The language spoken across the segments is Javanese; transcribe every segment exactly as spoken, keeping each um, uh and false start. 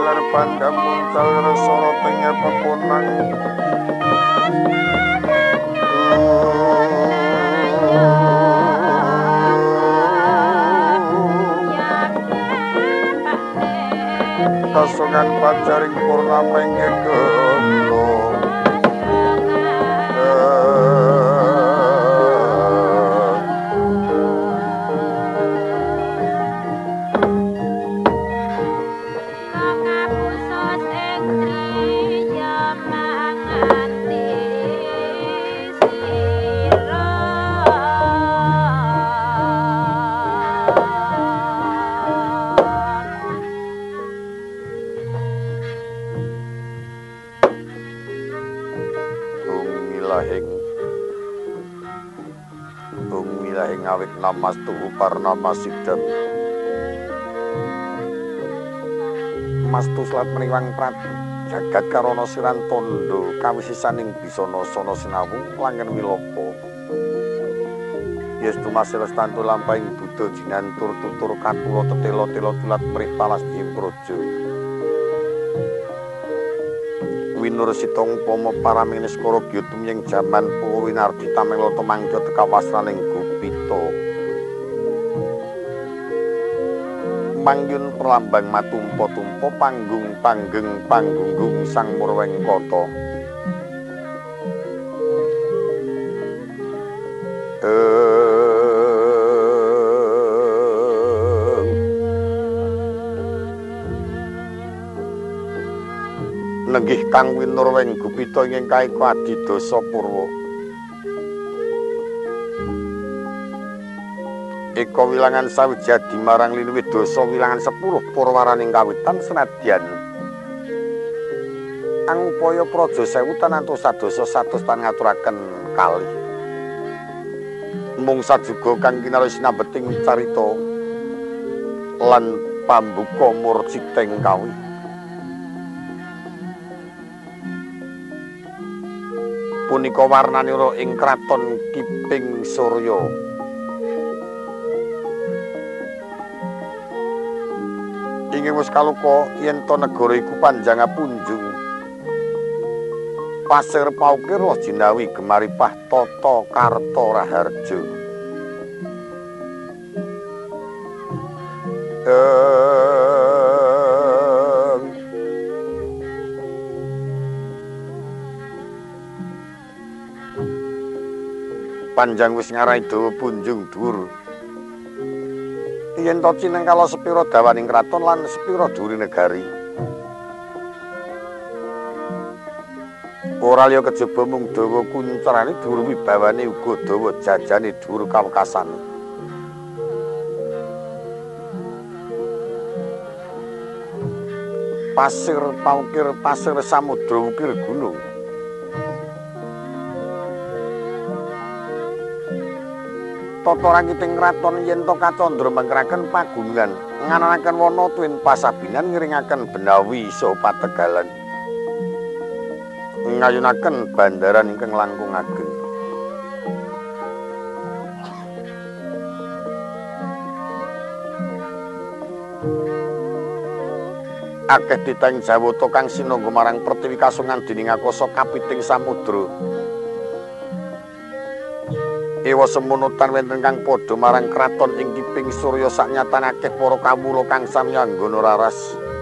lar pandam muncal resara tengah peponang kasungan pacaring purnama inggih gemblong ngawit namastu parnama sidam mastu slat meniwang prati jagat karana siran tondo kawisisaning bisana sana sinawung langen wilopo yes dumasih lestantu lampahing buddha jinantur tutur katula tetela-tela tulat mrih palas dimprojo winur sitong pomo paraming neskara gyutum ing jaman Purwinardi tamenglo temangca teka wasraning Gupita mangyun perlambang matumpa-tumpa panggung panggeng panggunggung sang Murwengkata nenggih kang winurweng Gupita ingkang kaeka adidasa purwa eka wilangan sawijadi marang linuwih dasa wilangan sepuluh purwaraning kawitan senadyan angupaya praja sewu tanantu sadasa satus tan ngaturaken kalih mung sajuga kang kinarya sinambeting carita lan pambuka murciting kawih punika warnanira ing kraton Kiping Surya ingkang wis kaluka yen to negara iku panjang punjung pasir paukir roh jinawi gemaripah tata karta raharja panjang wis ngarai dawa punjung dhuwur yen to cinengkala sepira dawaning kraton lan sepira dhuwure negari ora liya kejaba mung dawa kuncerane dhuwur wibawane uga dawa jajane dhuwur kawekasane pasir paukir pasir samudra ukir gunung tata rangiting kraton yen to kacandra mangkraken pagunungan ngananaken wana tuwin pasabinan ngiringaken benawi saha pategalan ngayunaken bandaran ingkang langkung ageng akeh titang jawata kang sinangga marang pertiwi kasungan dening akasa kapiting samudra ewa semunutan wenten kang padha marang kraton ing Kiping Surya saknyatan akeh para kawula kang sami anggana raras.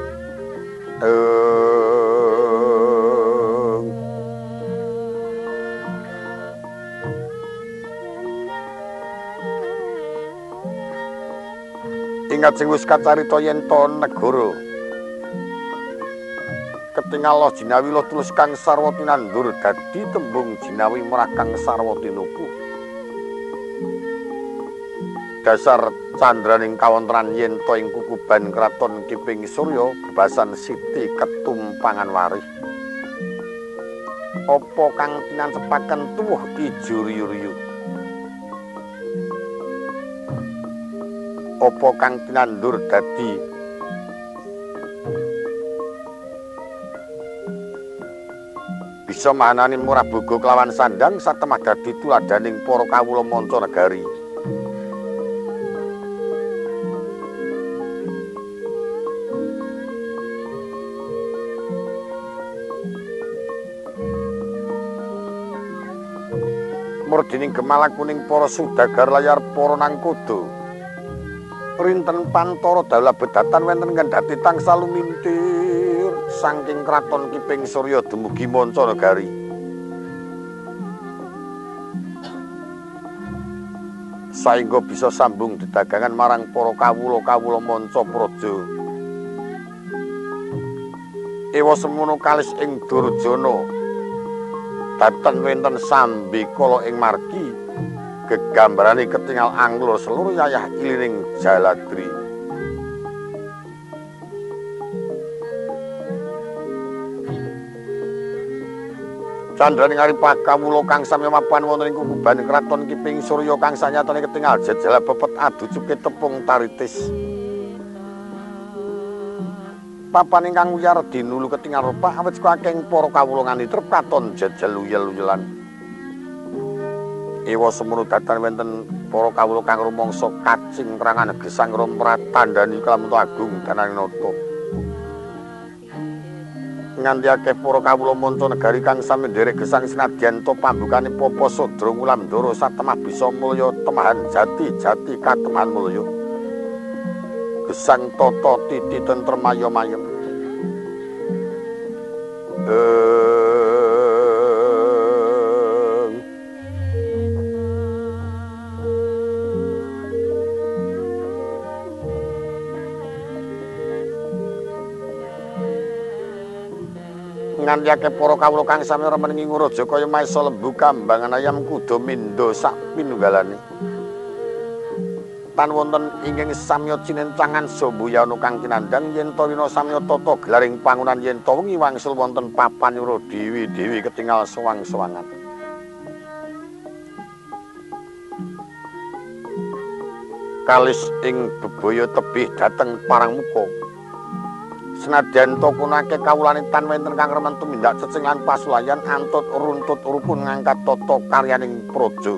Ingat sing wis kacarita yen to negara ketingal jinawi lo tulus kang sarwa tinandur dadi tembung jinawi merah kang sarwa tinuku. Dasar candraning kawontran yen to ing kukuban kraton Kiping Surya bebasan Siti ketumpangan warih. Apa kang tinancepaken tuwuh ijo riyu-riyu? Apa kang tinandur dadi bisa manani murah boga kelawan sandang satemah dadi tuladaning para kawula manca negari. Murdining gemala kuning para sudagar layar para nangkoda. Rinten pantara dalah bedatan wenten kendhati tangsal lumintir saking kraton Kiping Surya dumugi Mancanagari. Saengga bisa sambung dedagangan marang para kawula-kawula manca praja. Ewa semono kalis ing Durjana. Daten wenten sambi kala ing margi gegambarane ketingal anglo seluruh yayah ilining Jaladri. Candraning aripah kawula kang sami mapan wonten ing kukuban kraton Kiping Surya kang sanyatane ketingal jejal bebet adu cuke tepung taritis. Papan ingkang wiyar dinulu ketingal rupak awit saka akeh para kawula ngandhut katon jejal uyel-uyelan. Ewa semono datan wenten para kawula kang rumangsa kacing krangan gesang rompratandani Kalamunta Agung Dananata. Nganti akeh para kawula Mancanagari kang sami nderek gesang senadyan to pambukane Papa Sodra Ngulamdara satemah bisa mulya temahan jati-jati katemahan mulya. Gesang tata titi tentrem ayem-ayem. Nganti akeh para kawula kang sami remening nguraja kaya maesa lembu kambangan ayam kuda mindo sak pinunggalane. Tan wonten ingkang samya cinencangan Sambuyana kang kinandhang yen to wina samya tata gelaring pangunan yen to wengi wangsul wonten papan nyuruh dewi-dewi ketingal sewang-sewangan. Kalis ing bebaya tebih dhateng Parangmuka. Senadyan to kunake kawulane tan wenten kang remen tumindak cecing lan pasulayan antut runtut rukun ngangkat tata karyaning praja.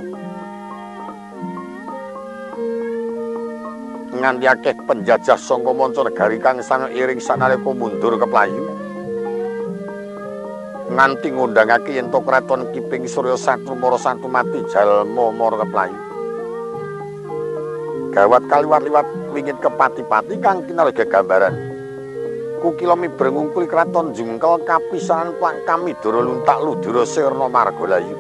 Nganti akeh penjajah saka Mancanagari kang sang iring sanalika mundur keplayu. Nganti ngundangake yen to kraton Kiping Surya Satrumara Santumati jalma mara keplayu. Gawat kaliwat-liwat wingit kepati-pati kang kinarga gambaran. Kukila mibreng ngungkuli kraton jungkel kapisanan Plang Kamidara luntak ludura sirna margalayu.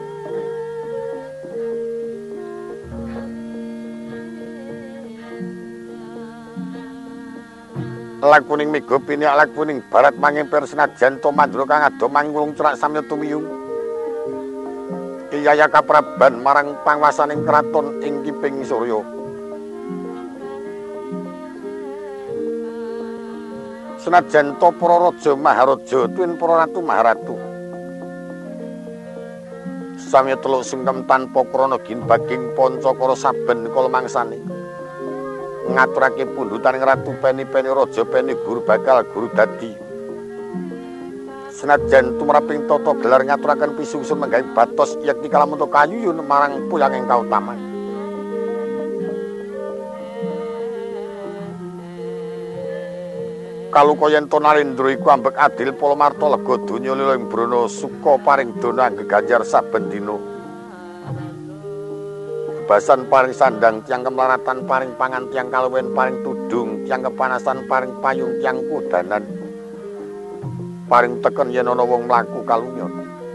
Lakuning mega piniak lakuning barat mangempir senajan to mandra kang ado mangulung cerak samya tumiyung. Iyaya kapraban marang pangwasaning kraton ing Kiping Surya. Senajan to para raja maharaja tuwin para ratu maharatu. Samya teluk sungkem tanpa krana ginbaging pancakara saben kala mangsane. Ngaturake pundutan ratu peni-peni raja peni guru bakal guru dadi. Senajan tumraping tata gelar ngaturaken pisungsun menggawe batos yakti Kalamunta kayuyun marang puyanging kautaman. Kaluka yen to Narendra iku ambek adil palamarta lega donya lila ing brana suka paring dana geganjar saben dina. Basan paring sandang tiang kemelaratan paring pangan tiang kaluwen paring tudung tiang kepanasan paring payung tiang kudanan paring teken yen ana wong mlaku kalunyon.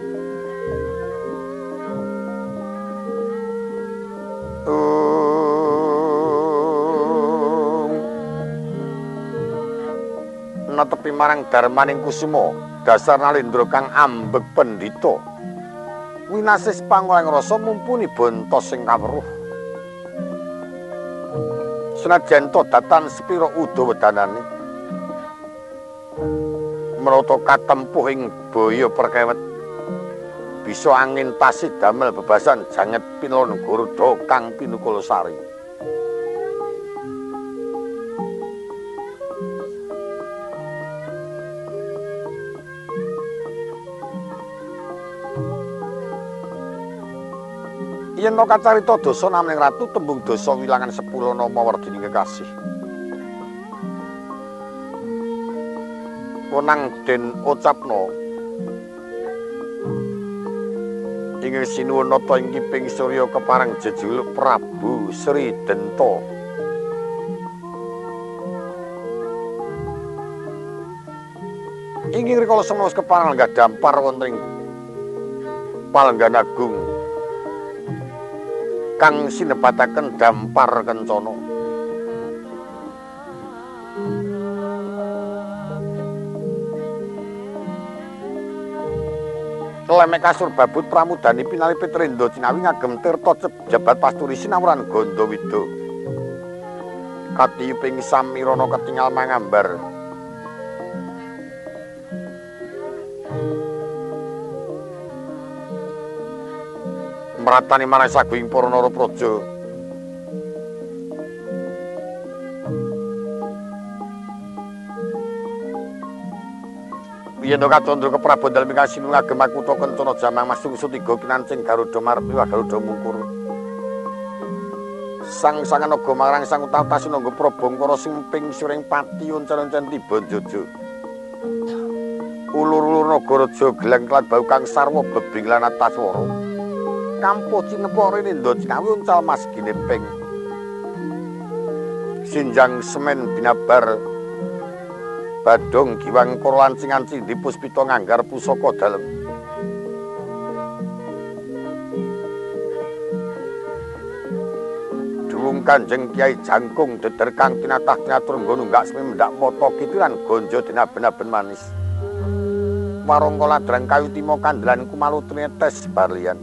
Netepi marang darmaning kusuma dasar Narendra kang ambek pendhita. Winasis pangoleng rasa mumpuni bontos sing kaweruh. Senajan to datan sepira udawedanane. Menata katempuh ing baya perkewet. Bisa angin tasih damel bebasan janget pinlon Garuda kang pinukul sari. Yen to kacarita dosa namening ratu tembung dosa wilangan sepuluh nama werdining kekasih. Wenang den ucapno Ing sinuwun nata ing kiping Surya kepareng jejuluk Prabu Sri Denta. Inggih rikala semana wis kepareng gadhampar wonten ing Palenggan Agung kang sinebataken Dampar Kencana. Lemek kasur babut pramudani pinali Pitrendra Cinawi ngagem tirta jabat pasturi sinawuran Gandawida. Katiyuping samirana ketingal mangambar. Mratani manah saguing para narapraja. Yen to katandra keprabon dalem ingkang sinu ngagem kutha Kencana Jamang Mas sungsu tiga kinancing Garuda Marpi wa Garuda Mungkur. Sang sangan naga marang sang utata sinangga Prabangkara simping suring pati oncen-oncen tiba jojo. Ulur-ulur Nagaraja geleng kelat bau kang sarwa bebing lan ataswara. Kampuh cinepore Nindra Cinawi uncal mas gineping. Sinjang semen binabar Badung giwang kara lancingan cindhi puspita nganggar pusaka dalem. Duwung Kanjeng Kyai Jangkung deder kang tinatah tinatur nggo nunggak semi mendak mata kitiran gonjo dinaben-aben manis. Warangka ladrang kayu timo kandelan kumalu trinetes barlian.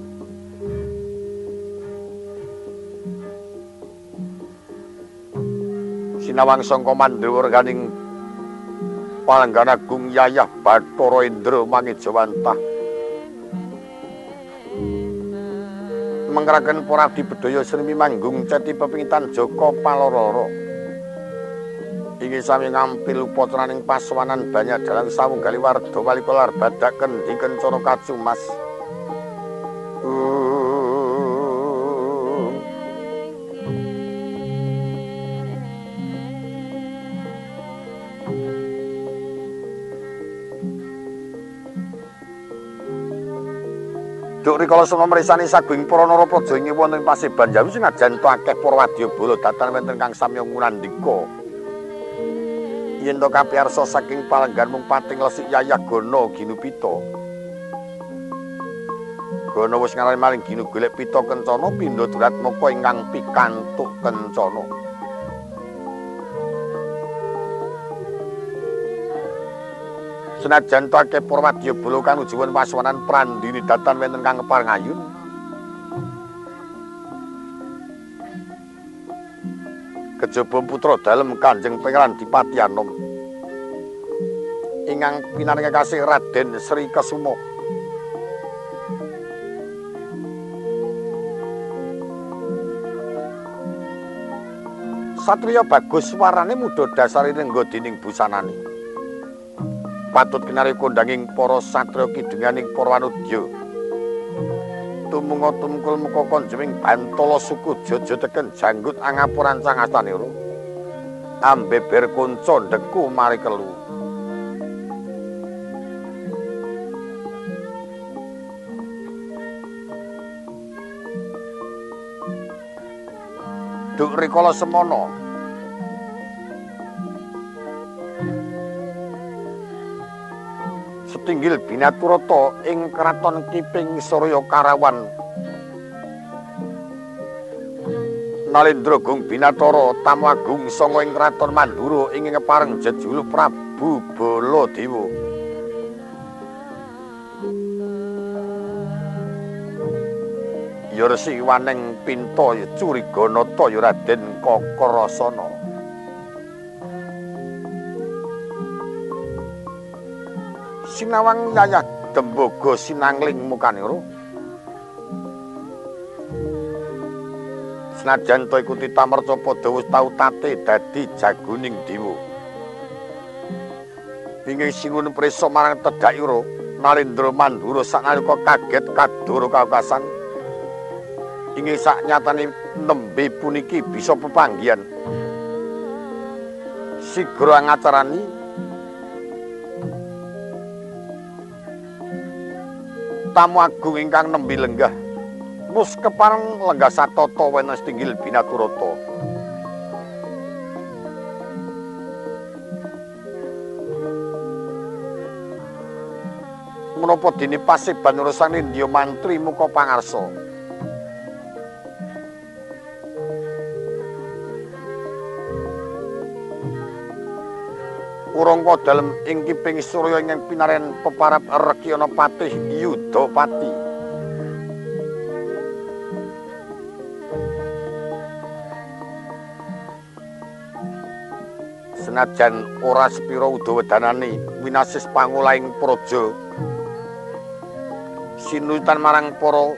Sinawang sangka mandhewa reganing Palenggan Agung Yayah Bathara Indra Mangejawantah mengraken para abdi bedaya srimi manggung ceti pepingitan Jaka Palororo inggih sami ngampil upatraning pasowanan banyak dalang sawunggali warda walikolar badaken di Kencana Kacumas. Duk rikala semana mresani saguing para narapraja ing wonten Paseban Jawi senajan to akeh para wadyabala datan wonten kang samya ngunandika. Yen to kapiarsa saking palenggan mung pating lesik Yayah Gana Ginupita. Gana wis ngarani maling ginu golek pita Kencana pindha Duratmaka ingkang pikantuk Kencana. Senajan to akeh para wadyabala kang nujuwen pasowanan prandini datan wonten kang kepareng ayun. Kejaba putra dalem Kanjeng Pangeran Dipati Anom ingkang pinaringa kasih Raden Sri Kesuma. Satriya bagus warane mudha dasare nengga dening busanane. Patut kinari kondanging para satriya kidenganing para wanudya. Tumunga tumkul muka konjeming Bantala suku Jaja teken janggut angapuran sang astanira. Ambeber kunca ndeku mari kelu. Duk rikala semana setinggil Binaturata ing kraton Kiping Surya Karawan. Nalendra Gung Binatara tamu agung sanga ing kraton Mandura ing kepareng jejuluk Prabu Baladewa. Ya resi waneng pinta Curiganata ya Raden Kakrasana. Sinawang Yayah Dembaga sinangling mukanira. Senajan to iku Titamerca padha wis tau tate dadi jagoning dewa. Inggih singun prisa marang Tedhakira Nalendra Mandura sanalika kaget kadoro kaukasan. Inggih saknyatane nembe puniki bisa pepanggihan. Sigra ngacarani tamu agung ingkang nembe lenggah mus kepareng lenggah satata wenes tinggil Binaturata. Menapa dene pasiban urusan Indya mantri muka pangarsa. Urangka dalem ing kiping Surya ingkang pinaren peparap Rekyana Patih Yudapati. Senajan ora sepira udawedanane winasis pangulaing praja sinutan marang para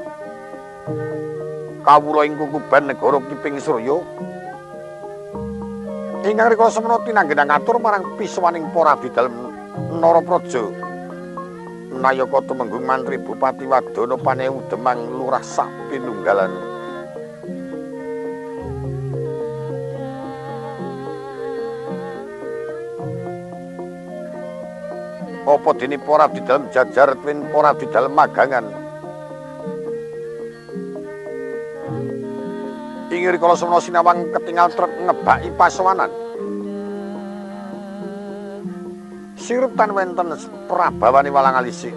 kawula ing kukuban negara Kiping Surya ingkang rikala semana tinanggena ngatur marang pisuwaning para abdi dalem Narapraja Nayaka tumenggung mantri Bupati Wadana Panewu Demang lurah sak pinunggalane. Apa dene para abdi dalem jajar twin para abdi dalem magangan ing rikala semana sinawang ketingal trep ngebaki pasowanan sirup tan wenten prabawane walang alisik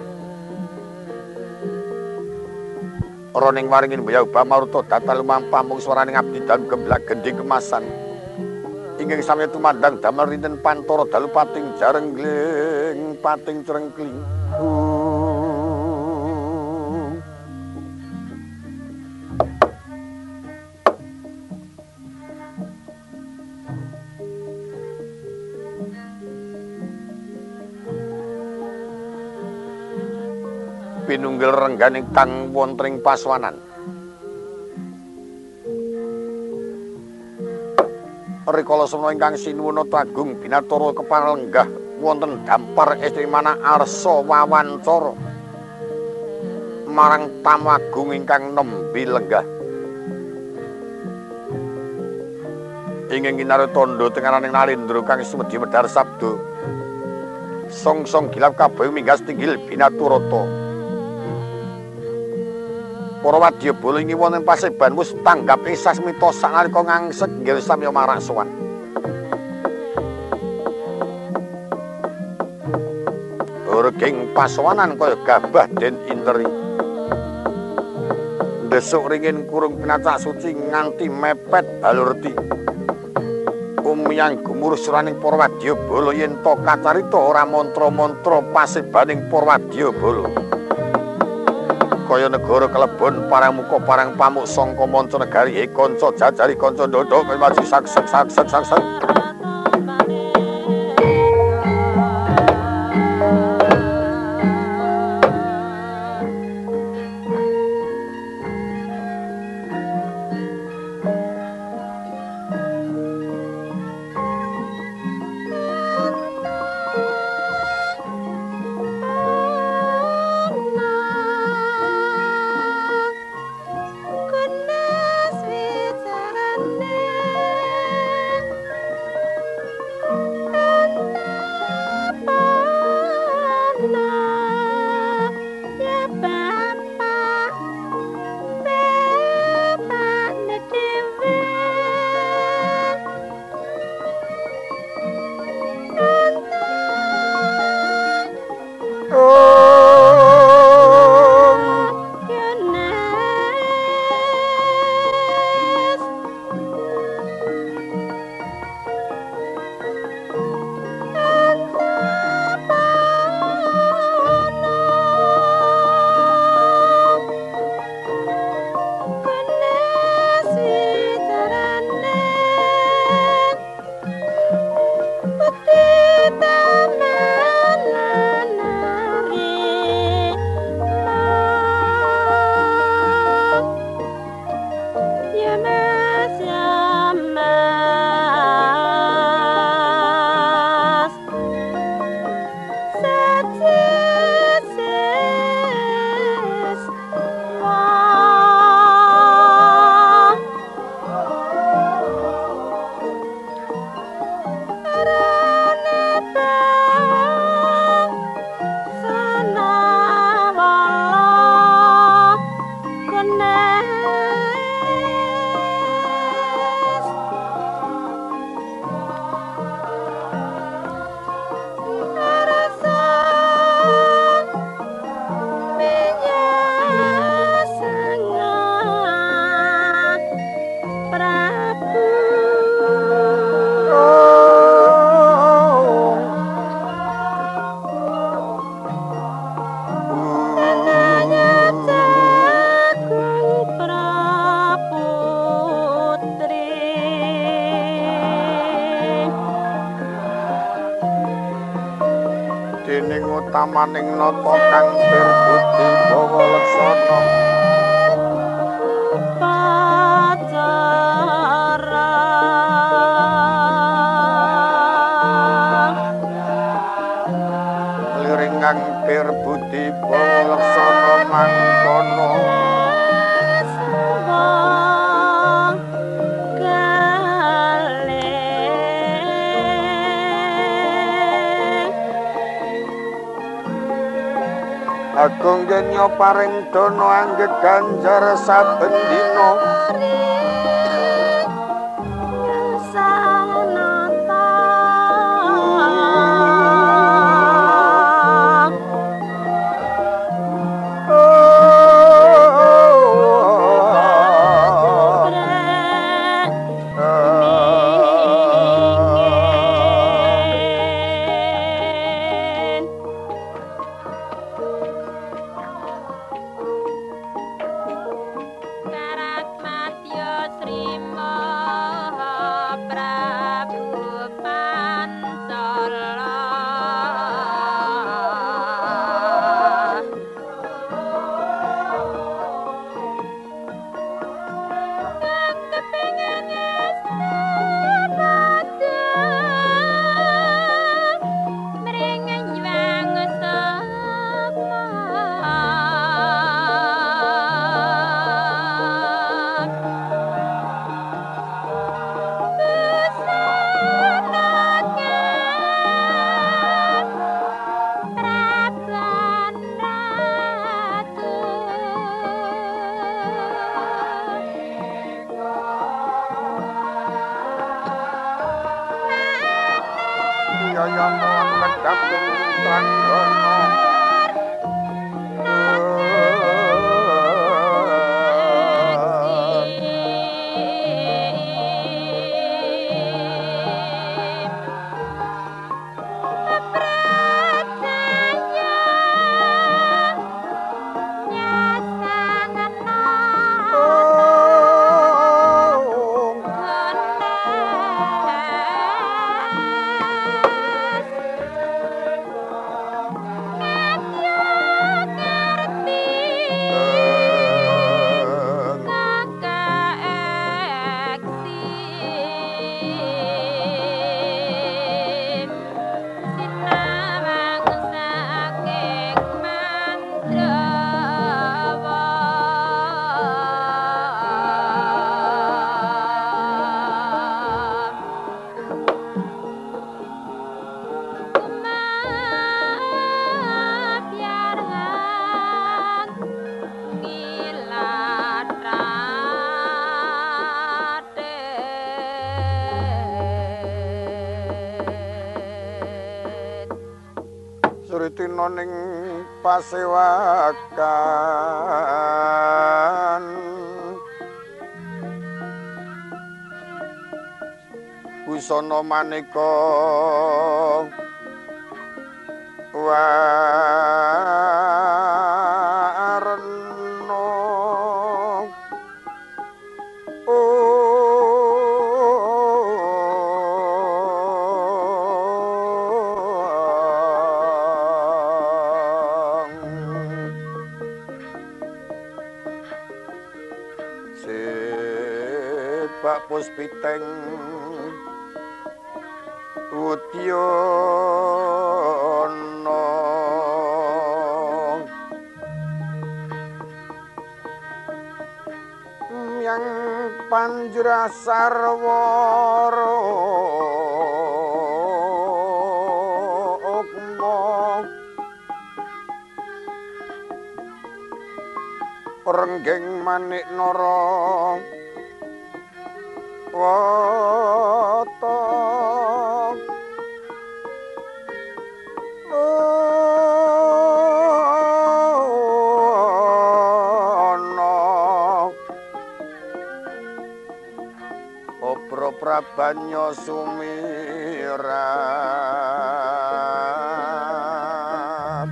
roning waringin Mbaya Ubah Maruta datal lumampah mung swaraning abdi dalem gemblak gendhi kemasan ingkang sami tumandang damel rinten pantara dalu pating jarengling pating crengkling pinunggil rengganing kang wonten ing pasowanan. Rikala semana ingkang sinuwuna Agung Binatura keparenggah wonten dampar estri manah arsa wawancara marang tamu agung ingkang nembe lenggah. Ingkang kinarya tandha tengaraning Nalendra kang sumedhi medhar sabda. Song-song gilap kabeh minggas tinggil Binaturata. Para wadya bala ing wonten paseban wis tanggap ing sasmita sanalika ngangsek inggih samya marak sowan. Reging pasowanan kaya gabah den interi. Ndesuk ringin kurung pinacak suci nganti mepet balurti. Umiyang gumurus suraning para wadya bala yen to kacarita ora mantra-mantra pasebaning para wadya bala. Kaya negara kelebon parang muka parang pamuk sangka manca negari he kanca jajari kanca ndodok maju saksek saksek saksek. dening utamaning nata kang pirbudi bawa leksana pacara liring kang pirbudi bawa leksana mangkono Agung genya paring dono anggeg ganjar saben dina sanata Suritina ning pasewakan busana maneka warna Pak Puspiteng Udyana yang Panjra Sarwara Renggeng Manik Nara Wata ana Obro Prabanya Sumirat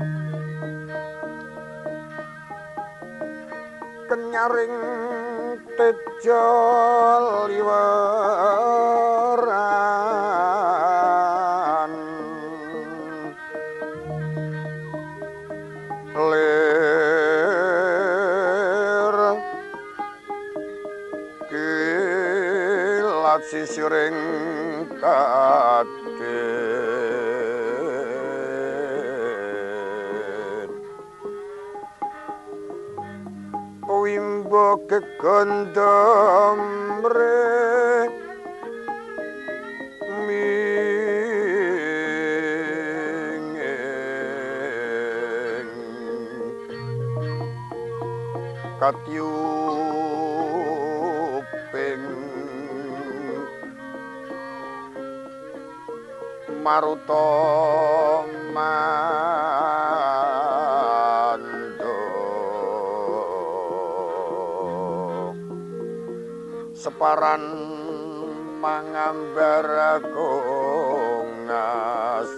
Kenyaring tejo liweran lir kilat sisiring kadhet wimbo kegondom re minging katyuping maruta mando separan mangambar kongas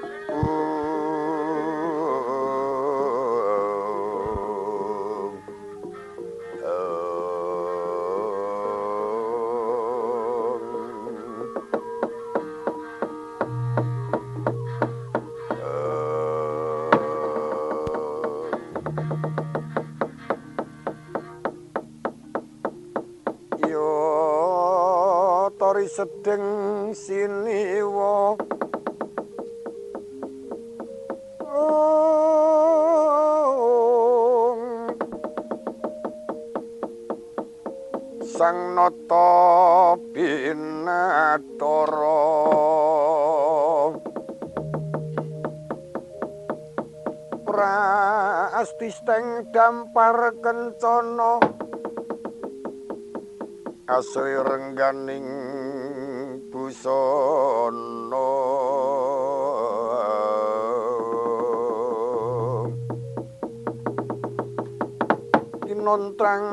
tori sedeng siniwa sang nata binatara prastisteng dampar kencana asri rengganing busana kinontrang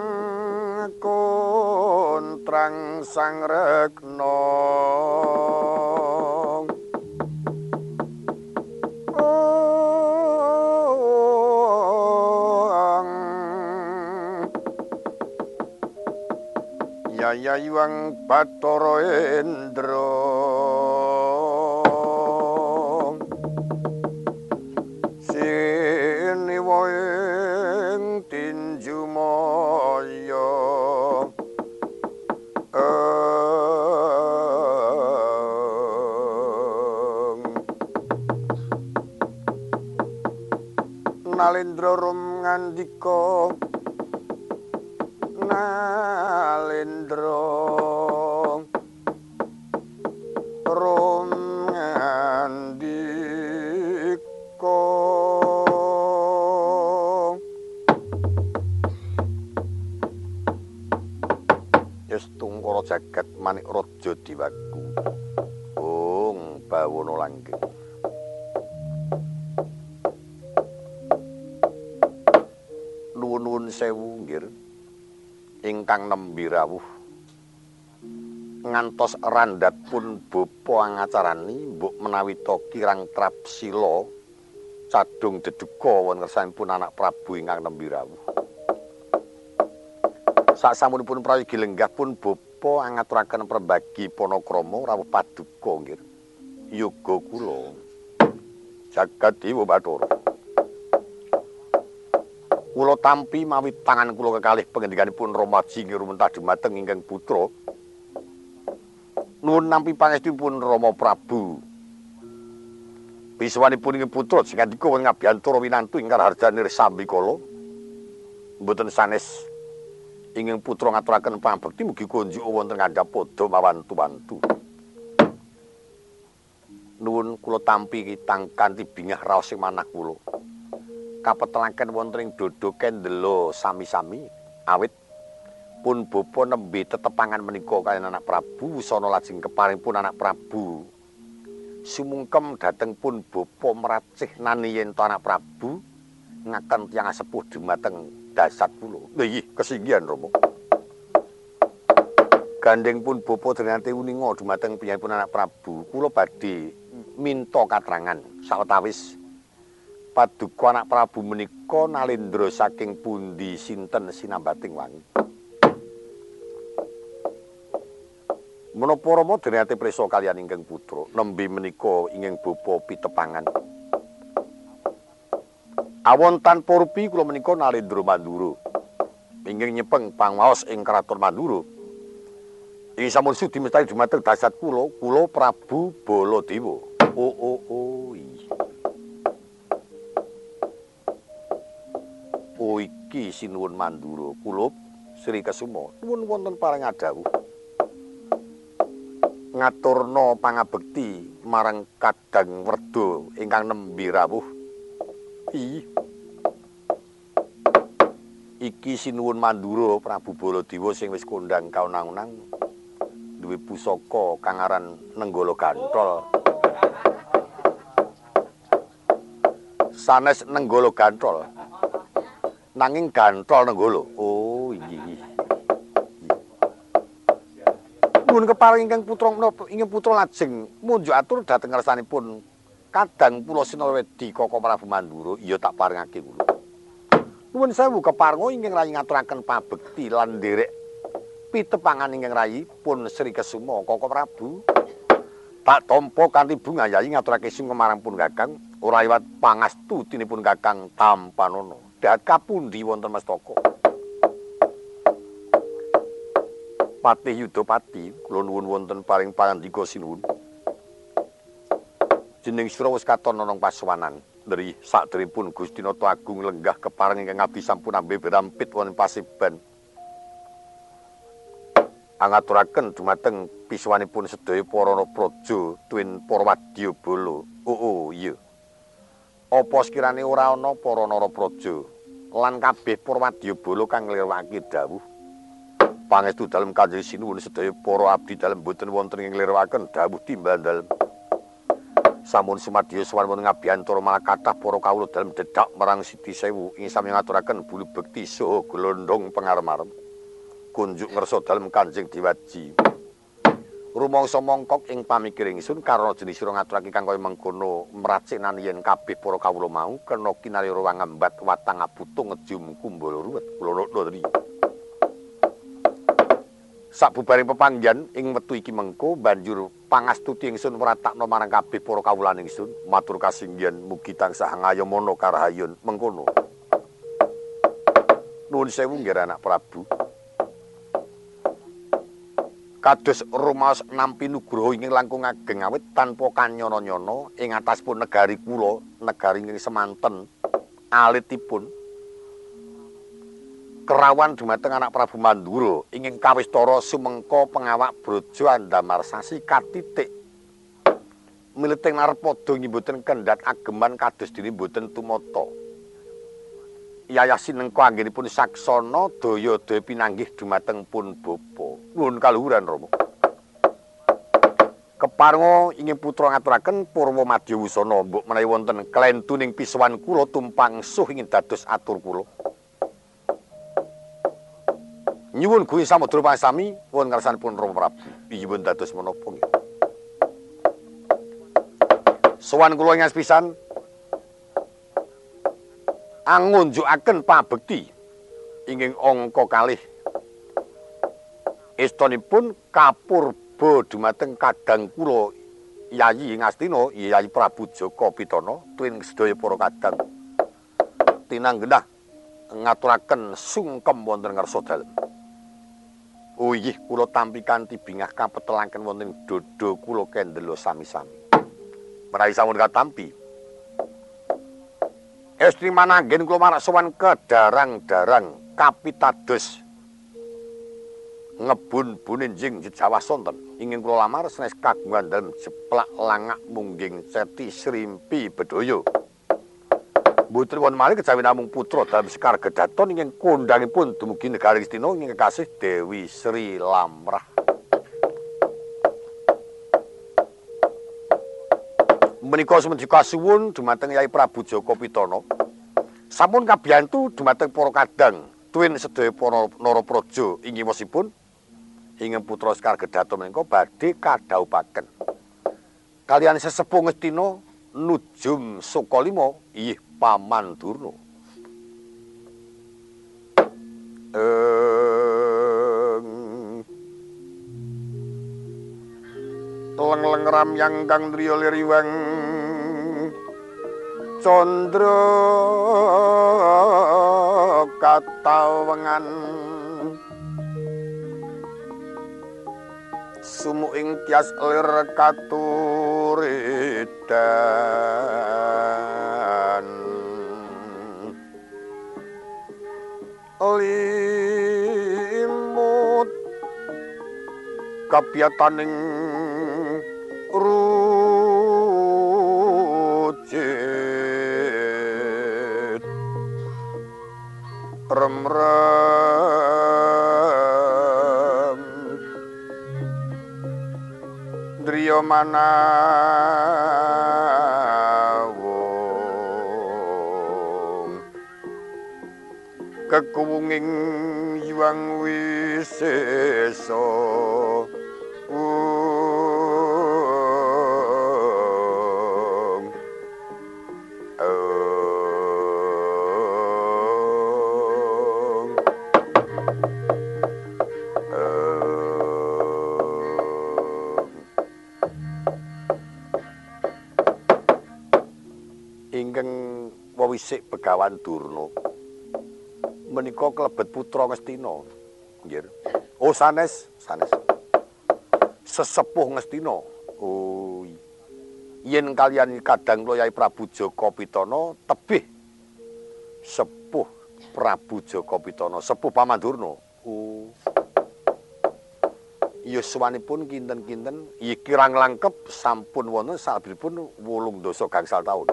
kontrang sang rekna Yayuang Bathara Endra siniwa ing tinju maya Nalendra rum ngandika Nalendra rum ngandika yes tungkara jagat manik raja diwaku ong bawana langgeng nuwun sewu nggih ingkang nembe rawuh ngantos randhat pun bapa angacarani mbok menawi to kirang trapsila cadung deduka wonten kersanipun anak Prabu ingkang nembe rawuh sasampunipun prayigi lenggah pun bapa angaturaken perbagi panakrama rawuh paduka nggih yoga kula jagat Dewa Bathara kula tampi mawi tangan kula kekalih pangendikanipun Ramaji ngrumentah dhumateng ingkang putra nuwun nampi pangestipun Rama Prabu biswanipun ingkang putra sing ngandika wonten ngabiyantara winantu ingkang harjane Sambikala mboten sanes ingkang putra ngaturaken pangabekti mugi kunjuk wonten ngandhap padha mawantu-wantu nuwun kula tampi kitang kanthi bingah raos sing manah kula kapetelaken wonten ing dodo kendela sami-sami awit pun bapa nembe tetepangan menika kaliyan anak Prabu wisana lajeng keparing pun anak Prabu sumungkem dhateng pun bapa meracih nani yen to anak Prabu ngaken tiyang sepuh dhumateng dasat kula nggih kesinggihan Rama gandeng pun bapa drenate uninga dhumateng piyambakipun anak Prabu kula badhe minta katrangan sawetawis paduka anak Prabu menika Nalendra saking pundi sinten sinambating wangi. Menapa Rama dene prisa kaliyan ingkang putra nembe menika ingkang bapa pitepangan. Awon tanpa rupi kula menika Narendra Mandura. Inggih nyepeng pangwaos ing Kraton Mandura. Ing sampun sudi mestani dumateng dasat kula, kula Prabu Baladewa. Oh oh oh. Oh iki sinuwun Mandura, kula Sri Kesuma. Nuwun wonten paring adhawuh. Ngaturna pangabekti marang Kadang Werda ingkang nembe rawuh. Ih. Iki sinuwun Mandura Prabu Baladewa sing wis kondhang kaunang-unang duwe pusaka kang aran Nenggala Gantol. Sanes Nenggala Gantol. Nanging Gantol Nenggala. Oh iya. Nuwun keparing ingkang putra menapa ingkang putra lajeng munjuk atur dhateng ngersanipun Kadang Pula Sinawedi Kaka Prabu Mandura. Iya tak paringake kula. Nuwun sewu keparenga ingkang rayi ngaturaken pabekti lan nderek pitepangan ingkang rayi pun Sri Kesuma Kaka Prabu. Tak tampa kanthi bunga yayi ngaturake sing marang pun Kakang ora liwat pangastutinipun Kakang Tampanana. Dahat kapundi wonten mestaka? Patih Yudapati kula nuwun wonten paring pangandika sinuwun. Jeneng sira wis katon ana pasowanan. Dari sakderengipun Gusti Nata Agung lenggah kepareng ingkang abdi sampun ambe berampit wonten Paseban. Angaturaken dumateng pisuwanipun sedaya para praja tuwin para wadyabala. Oh, oh iya. Apa sekirane ora ana para narapraja lan kabeh para wadyabala kang nglirwakake dawuh pangestu dalem Kanjeng Sinuwun sedaya para abdi dalem boten wonten ing nglirwakaken dawuh timbal dalem. Sampun sumadya sowan wonten ngabiyantara malah kathah para kawula dalem dedak marang Siti Sewu ing sami ngaturaken bulu bekti saha glondhong pangarep-arep kunjuk ngersa dalem Kanjeng Dewaji. Rumangsa mongkok ing pamikiring ingsun karana jenis sira ngaturake kang kaya mengkono mraciknan yen kabeh para kawula mau kena kinarira wangambat watang abutung ngejum kumbala ruwet kula ndri. Sabubaring pepanggihan ing wektu iki mengko banjur pangastuti ingsun mratakna marang kabeh para kawulan ingsun matur kasinggihan mugi tansah ngayomana karahayon mengkono. Nuwun sewu nggih anak Prabu. Kados rumaos nampi nugraha ingkang langkung ageng awit tanpa kanyana-nyana ing ataspun negari kula, negari ingkang semanten alitipun kerawan dumateng anak Prabu Mandura ingkang kawistara sumengka pengawak Braja Andamarsasi katitik mileting Narpada inggih boten kendhat ageman kados dene boten tumata. Yayah sinengka anggenipun saksana daya-daya pinanggih dumateng pun bapa. Nuwun kaluhuran Rama. Keparenga ingin putra ngaturaken Purwa Madya Wusana mbok menawi wonten klentuning pisuwan kula tumpang suh ingin dados atur kula. Nyuwun Gusti Samudra Pangsami wonten ngarsanipun Rama Prabu. Inggih dados menapa nggih. Sowan kula ing pisan angunjukaken pabekti ingkang angka kalih. Estanipun kapurba dumateng Kadang kula Yayi Ngastina, Yayi Prabu Jaka Pitana tuwin sedaya para kadang. Tinanggenah ngaturaken sungkem wonten ngarsa dalem. Oh inggih kula tampi kanthi bingah kapetelaken wonten dada kula kendela sami-sami. Menawi sampun katampi estri mananggen kula marak sowan kedarang-darang kapitados ngebun-bunin jing jejawa sonten ingin kula lamar sanes kagungan dalem jeplak langak mungging ceti srimpi bedaya. Mboten wonten malih kejawi namung putra dalam sekar gedaton ingkang kondhangipun dumugi negari Ngastina ingkang kasih Dewi Sri Lamrah. Menika sumedya kasuwun dumateng Yai Prabu Jaka Pitana. Sampun kabiyantu dumateng para kadang tuwin sedaya para narapraja inggih wasipun ingkang putra sekar gedaton menika badhe kadhaupaken. Kaliyan sesepuh Ngastina Nujum Sukalima inggih Paman Durna. Leng-leng ramyang kang driya liriwang Condro katawengan sumuing tias lir katuridan limut kapiyataning rujit rem-rem driya manawung kekuwunging yuang wisesa Wisik Begawan Durna menika klebet putra Ngastina. Nggih. Oh sanes, sanes. Sesepuh Ngastina. Oh. Yen kaliyan kadang kula Yai Prabu Jaka Pitana tebih sepuh Prabu Jaka Pitana, sepuh Paman Durna. Oh. Yuswanipun kinten-kinten iki kirang langkep sampun wonten salebetipun wolung dasa gangsal taun.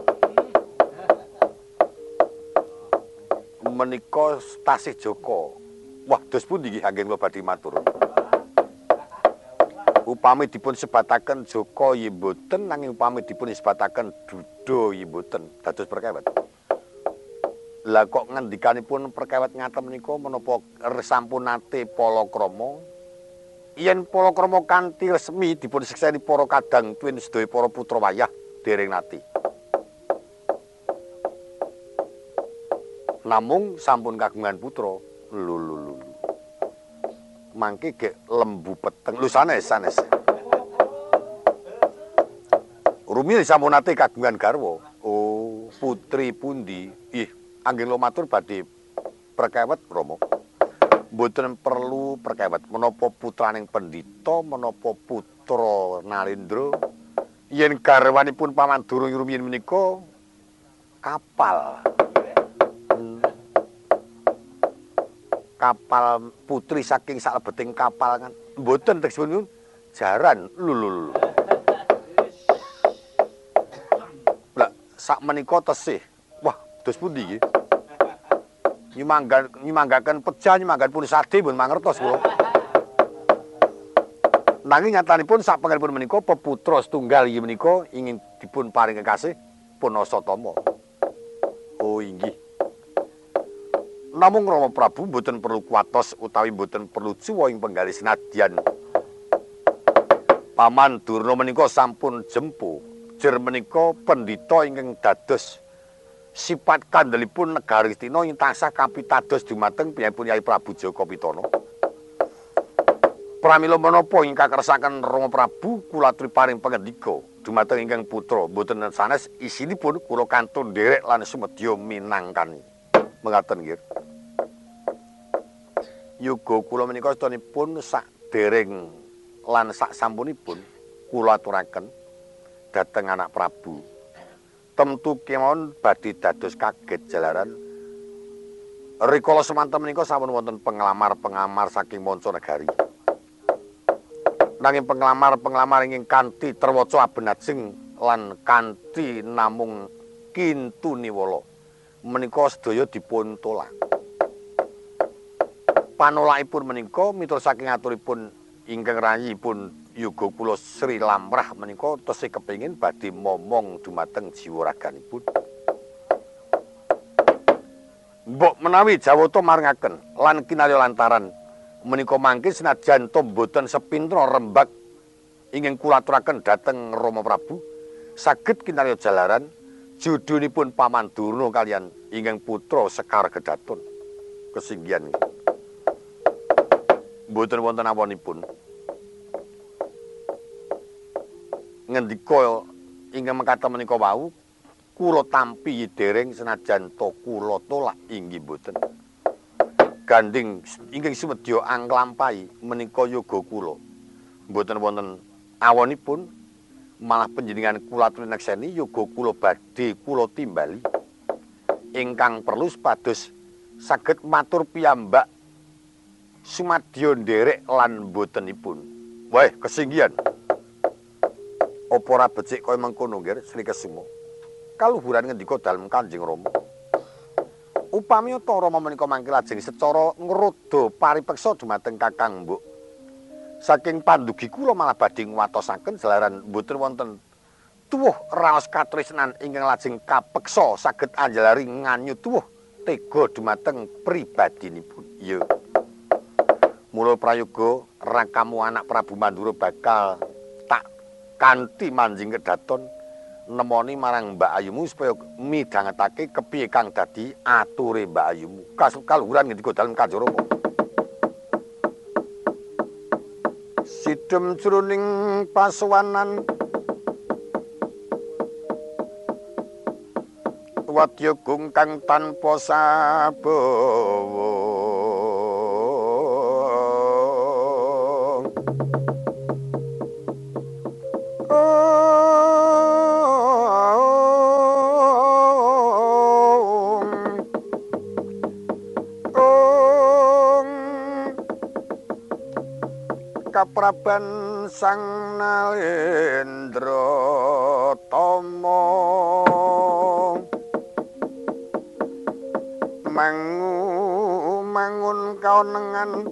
Menika tasih Joko. Wah, dos pundi nggih anggen kula badhe matur. Upami dipun sebataken Joko nggih mboten nanging upami dipun sebataken Duda nggih mboten dados perkawet. Lah kok ngendikanipun perkawet ngaten menika menapa sampun nate palakrama? Yen palakrama kanthi resmi dipun sekseni para kadang tuwin sedaya para putra wayah dereng nate. Namung sampun kagungan putra lho lho lho mangke gek lembu peteng lho sanes sanes rumiyin sampun nate kagungan garwa. Oh putri pundi ih anggen kula matur badhe perkawet Rama mboten perlu perkawet menapa putraning pendhita menapa putra Narendra yen garwanipun Paman Durna rumiyin menika kapal kapal putri saking salebeting kapal kan mboten tegesipun jaran lho lho lho lah sak menika tesih wah dos pundi nggih nyimanggan nyimanggaken pejah nyimanggan pun sade pun mangertos kula nanging nyatanipun sak pangenipun menika peputra setunggal inggih menika ingin dipun paring kekasih pun Asatama. Oh inggih. Namung Rama Prabu mboten perlu kuatos utawi mboten perlu cuwa ing penggalih senadyan. Paman Durna menika sampun jempu. Jer menika pendhita ingkang dados sifat kandhelipun negari Astina ing tansah kapitados dumateng piyambakipun Yai Prabu Jaka Pitana. Pramila menapa ingkang kersakaken Rama Prabu kula aturi paring pangendika dumateng ingkang putra mboten sanes isinipun kula kantun nderek lan sumedya minangkani. Mengaten nggih. Yoga kula menika sedanipun sak dereng lan sak sampunipun kula aturaken dhateng anak Prabu. Temtu kemawon badhe dados kaget jalaran rikala semanten menika sampun wonten penglamar-penglamar saking manca negari. Nanging penglamar-penglamar ingkang kanthi terwaca abenajeng lan kanthi namung kintuniwala menika sedaya dipun tolak. Panolakipun menika miturut saking aturipun ingkang rayipun yoga kula Sri Lamrah menika tesih kepengin badhe momong dumateng jiwa raganipun. Mbok menawi Jawata maringaken lan kinarya lantaran menika mangke senajan to mboten sepintra rembag ingkang kula aturaken dhateng Rama Prabu saged kinarya jalaran judhunipun Paman Durna kaliyan ingkang putra Sekar Gedaton kesinggihan mboten wonten awanipun ngendika ingkang mekaten menika wau kula tampi dereng senajan to kula tolak inggih boten. Ganding ingkang sumedya anglampahi menika yoga kula. Mboten wonten awonipun malah panjenengan kula aturi nekseni yoga kula badhe kula timbali. Ingkang perlu supados saged matur piyambak sumadya nderek lan botenipun. Wah, kesinggihan. Apa ora becik kaya mengkono nggih Sri Kesuma? Kaluhuran ngendika dalem Kanjeng Rama. Upami ta Rama menika mangke lajeng secara ngrodha paripeksa dumateng Kakang Mbok. Saking pandugi kula malah badhe nguwatosaken jalaran mboten wonten tuwuh raos katresnan ingkang lajeng kapeksa saged anjalari nganyu tuwuh tega dumateng pribadinipun. Ya. Mula prayoga rakamu anak Prabu Mandura bakal tak kanthi manjing kedaton nemoni marang Mbak Ayumu supaya midhangetake kepiye kang dadi ature Mbak Ayumu. Kaluhuran ngendika dalem Kanjeng Rama. Sidhem jroning pasowanan wadya gung kang tanpa sabawa kapraban sang Nalendra Tama mangu mangun kaonengan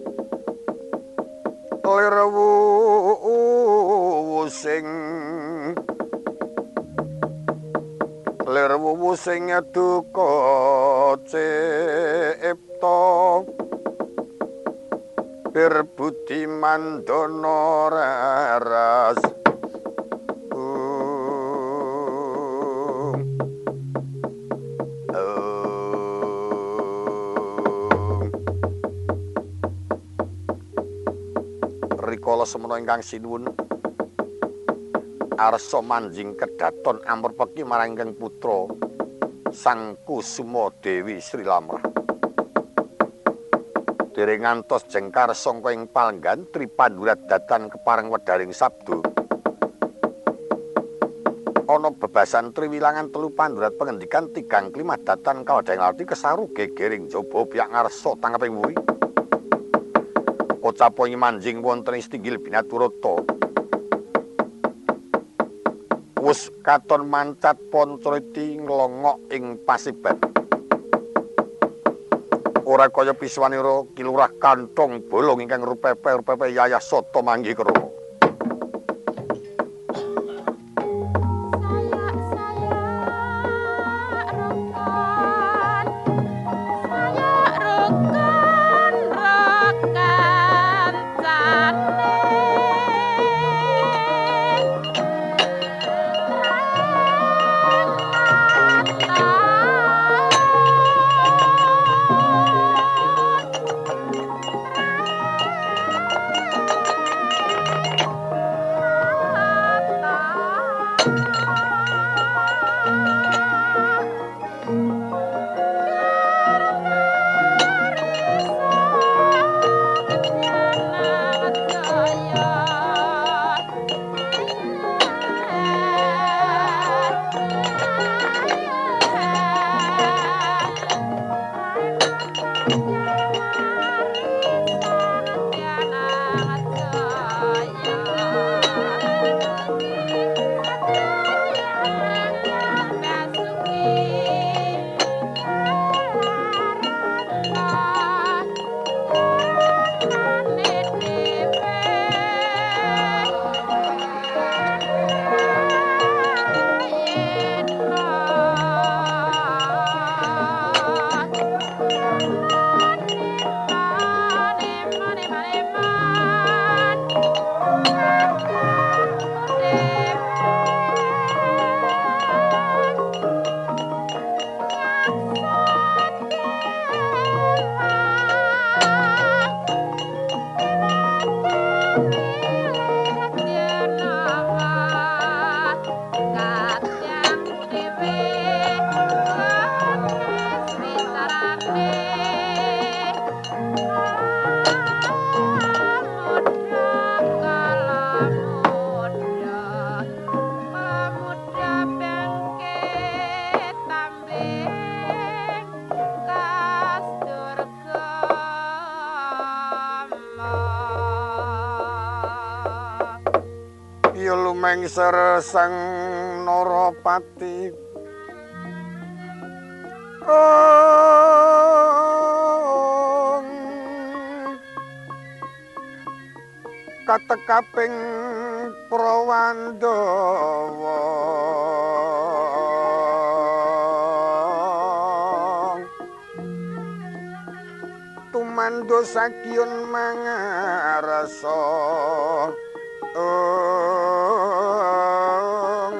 lirwu sing lirwu sing duka cipta berbudi mandana raras rikala semana ingkang sinuwun arsa manjing kedaton amrepeki marang ingkang putra Sang Kusuma Dewi Sri Lamrah. Dereng ngantos jengkar sangka ing palenggan Tripandurat datan kepareng wedaring sabda. Ana bebasan triwilangan telu pandurat pengendikan tigang klimah datan kawadhang arti kesaru gegering jaba pihak ngarsa tangkeping wuri. Kocapa ing manjing wonten istinggil binaturata. Wus katon mancat Pancriti nglongok ing pasiban. Ora kaya piswanira kilurah kantong bolong ingkang rupepe-rupepe yayah soto manggih krama. mengser sang Narapati ong katekaping Prawandawa tumandha sakyun mangarasa ong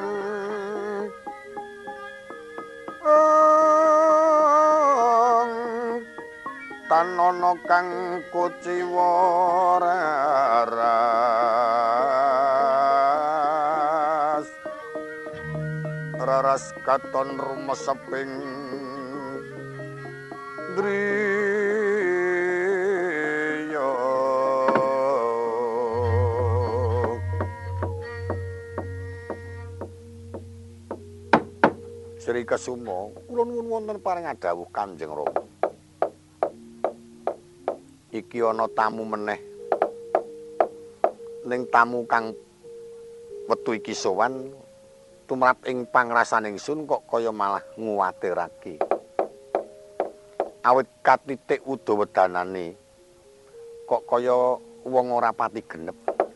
ong tanana kang kuciwa raras raras katon rumeseping driya Sri Kesuma kula nuwun wonten paring dawuh Kanjeng Rama iki ana tamu meneh ning tamu kang wetu iki sowan tumrap ing pangrasaning ingsun kok kaya malah nguwatirake awit katitik udawedanane kok kaya wong ora pati genep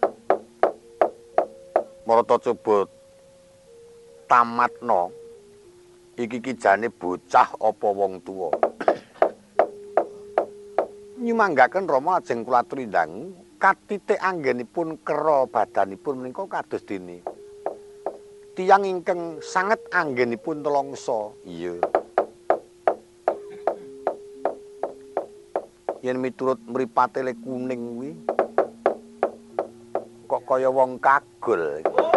marata coba tamatno iki kijane bocah apa wong tuwa nyumanggaken Rama ajeng kula aturi ndang katitik anggenipun kera badanipun menika kados dene tiyang ingkang sanget anggenipun telongso iya yen miturut mripate le kuning kuwi kok kaya wong kagol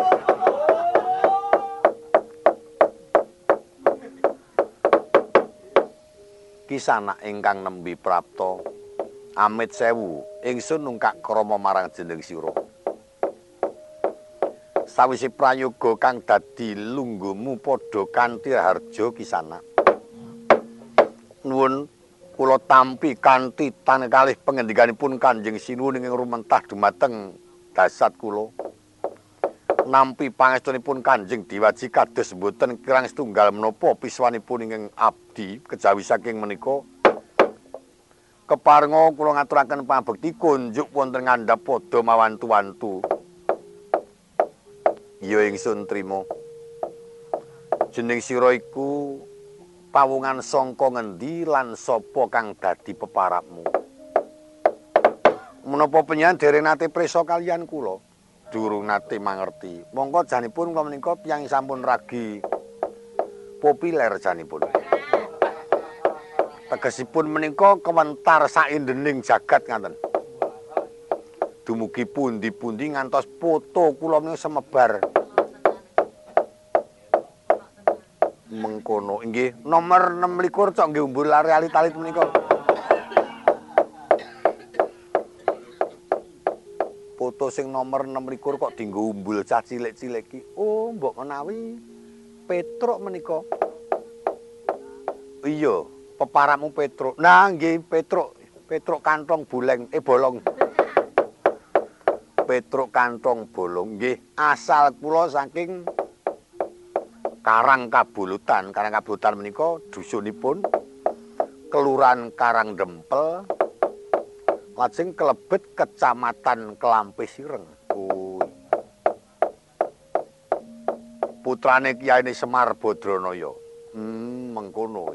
kisana ingkang nembe prapta amit sewu ingsun nungkak krama marang jeneng sira sawise prayoga kang dadi lungguhmu padha kanthi harja kisana nuwun kula tampi kanthi tan kalih pangendikanipun Kanjeng Sinuwun ing rumentah dumateng dasat kula nampi pangestunipun Kanjeng Diwaji kados mboten kirang setunggal menapa piswanipun ingkang abdi kejawi saking menika keparenga kula ngaturaken pangabekti kunjuk wonten ngandhap padha mawantu-wantu ya ingsun trima jeneng sira iku pawungan sangka ngendi lan sapa kang dadi peparapmu menapa panjenengan dereng nate prisa kaliyan kula durung nate mangerti monggo janipun kula menika tiyang sampun ragi populer janipun tegesipun menika kewentar saindening jagat ngaten dumugi pundi-pundi ngantos foto kula menika semebar mengkono inggih nomor enam likur cok nggih umbul realitalit menika foto sing nomor enam likur kok dienggo umbul cah cilik-cilik iki oh mbok menawi Petruk menika iya peparapmu Petruk nah nggih Petruk Petruk kantong buleng eh bolong Petruk kantong bolong nggih asal kula saking Karang Kabulutan Karang Kabulutan menika dusunipun Kelurahan Karang Dempel lajeng kelebet Kecamatan Kelampis Ireng oh putrane Kyai Semar Badranaya hmm mengkono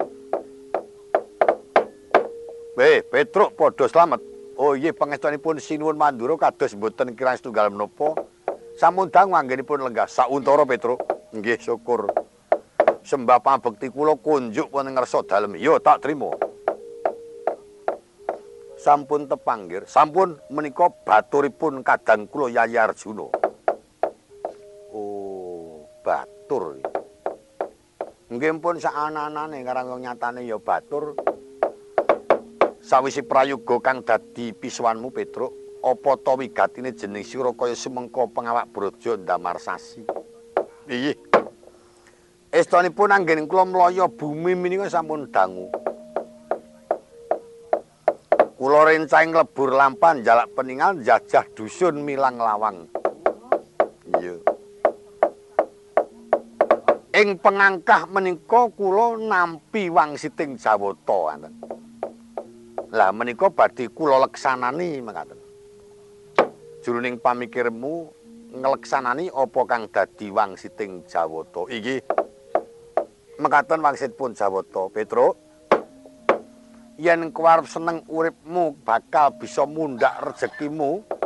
Weh, Petruk padha slamet. Oh nggih pangestunipun sinuwun mandura kados mboten kirang setunggal menapa. Sampun dangu anggenipun lenggah sauntara Petruk. Nggih syukur. Sembah pambekti kula kunjuk wonten ngarsa dalem. Yo tak trima. Sampun tepanggir, sampun menika baturipun kadang kula Yayi Arjuna. Oh, batur. Nggih pun sak ana-anane karang nyatane ya batur. Sawise prayoga kang dadi pisuwanmu Petruk, apa ta wigatine jeneng sira kaya sumengko pengawak braja ndamar sasi. Nggih. Estanipun anggen kula mlaya bumi menika sampun dangu. Kula rencang lebur lampan jalak peninggal jajah dusun Milang Lawang. Iya. ing pengangkah menika kula nampi wangsiting Jawata ngoten. Lah menika badhe kula leksanani mekaten. Jroning pamikirmu ngeleksanani apa kang dadi wangsiting Jawata. Iki mekaten wangsitipun Jawata. Petruk, yen kowe arep seneng uripmu bakal bisa mundhak rezekimu,